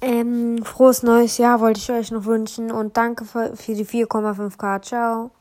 Frohes neues Jahr wollte ich euch noch wünschen und danke für die 4,5K. Ciao.